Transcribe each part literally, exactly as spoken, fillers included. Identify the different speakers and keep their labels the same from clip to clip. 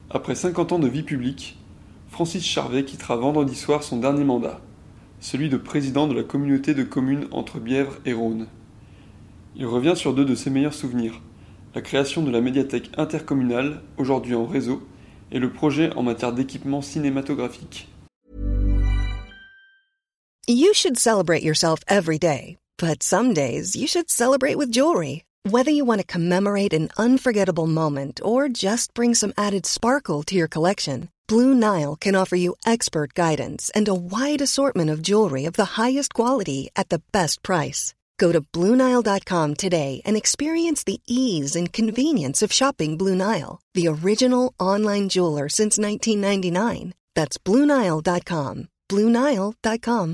Speaker 1: Après cinquante ans de vie publique, Francis Charvet quittera vendredi soir son dernier mandat, celui de président de la communauté de communes entre Bièvre et Rhône. Il revient sur deux de ses meilleurs souvenirs, la création de la médiathèque intercommunale, aujourd'hui en réseau, et le projet en matière d'équipement cinématographique.
Speaker 2: You should celebrate yourself every day, but some days you should celebrate with jewelry. Whether you want to commemorate an unforgettable moment or just bring some added sparkle to your collection, Blue Nile can offer you expert guidance and a wide assortment of jewelry of the highest quality at the best price. Go to Blue Nile dot com today and experience the ease and convenience of shopping Blue Nile, the original online jeweler since nineteen ninety-nine. That's Blue Nile dot com. Blue Nile dot com.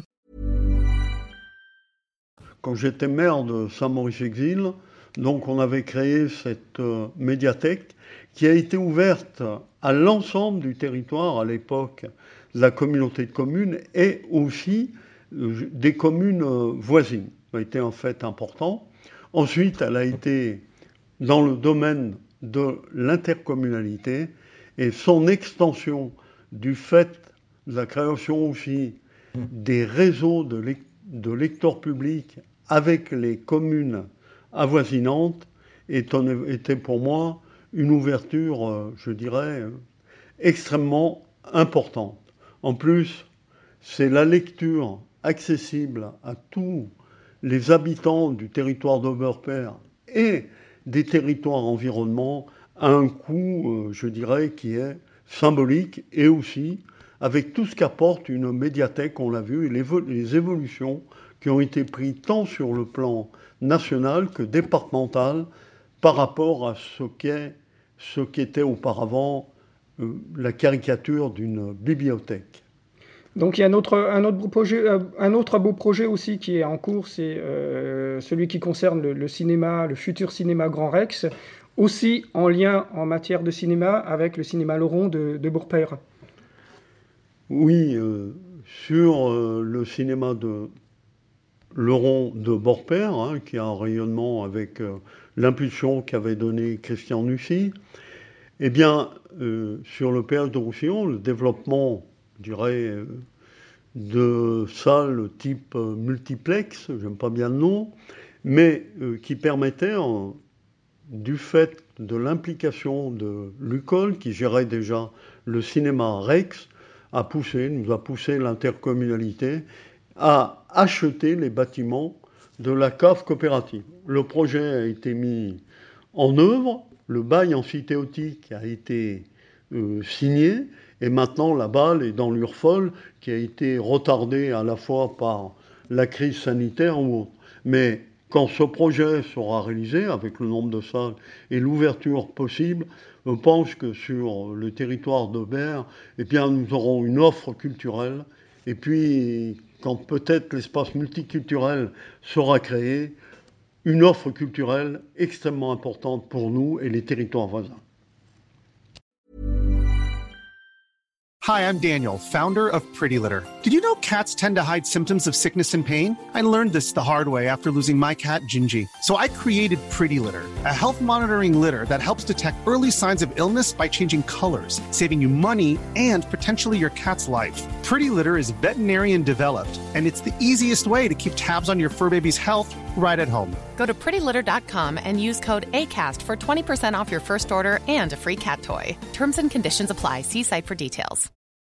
Speaker 3: Quand j'étais maire de Saint-Maurice-Exil, donc on avait créé cette euh, médiathèque qui a été ouverte à l'ensemble du territoire à l'époque de la communauté de communes et aussi euh, des communes euh, voisines. Ça a été en fait important. Ensuite, elle a été dans le domaine de l'intercommunalité et son extension du fait de la création aussi des réseaux de, lec- de lecteurs publics avec les communes avoisinantes était pour moi une ouverture, je dirais, extrêmement importante. En plus, c'est la lecture accessible à tous les habitants du territoire d'Oberperre et des territoires environnants à un coût, je dirais, qui est symbolique et aussi avec tout ce qu'apporte une médiathèque, on l'a vu, et les, les évolutions qui ont été prises tant sur le plan national que départemental par rapport à ce qu'est, ce qu'était auparavant euh, la caricature d'une bibliothèque.
Speaker 4: Donc il y a un autre, un autre, beau, projet, un autre beau projet aussi qui est en cours, c'est euh, celui qui concerne le, le cinéma, le futur cinéma Grand Rex, aussi en lien en matière de cinéma avec le cinéma Laurent de, de Beaurepaire.
Speaker 3: Oui, euh, sur euh, le cinéma de Laurent de Beaurepaire, hein, qui a un rayonnement avec euh, l'impulsion qu'avait donnée Christian Nussy, eh bien, euh, sur le péage de Roussillon, le développement, je dirais, euh, de salles type euh, multiplex, j'aime pas bien le nom, mais euh, qui permettait, en, du fait de l'implication de l'U C O L, qui gérait déjà le cinéma Rex, a poussé, nous a poussé l'intercommunalité à acheter les bâtiments de la cave coopérative. Le projet a été mis en œuvre, le bail emphytéotique a été euh, signé, et maintenant la balle est dans l'Urfol, qui a été retardée à la fois par la crise sanitaire ou autre. Mais quand ce projet sera réalisé, avec le nombre de salles et l'ouverture possible, je pense que sur le territoire d'Aubert, eh bien, nous aurons une offre culturelle. Et puis, quand peut-être l'espace multiculturel sera créé, une offre culturelle extrêmement importante pour nous et les territoires voisins.
Speaker 5: Hi, I'm Daniel, founder of Pretty Litter. Did you know cats tend to hide symptoms of sickness and pain? I learned this the hard way after losing my cat, Gingy. So I created Pretty Litter, a health monitoring litter that helps detect early signs of illness by changing colors, saving you money and potentially your cat's life. Pretty Litter is veterinarian developed, and it's the easiest way to keep tabs on your fur baby's health right at home.
Speaker 6: Go to pretty litter dot com and use code ACAST for twenty percent off your first order and a free cat toy. Terms and conditions apply. See site for details.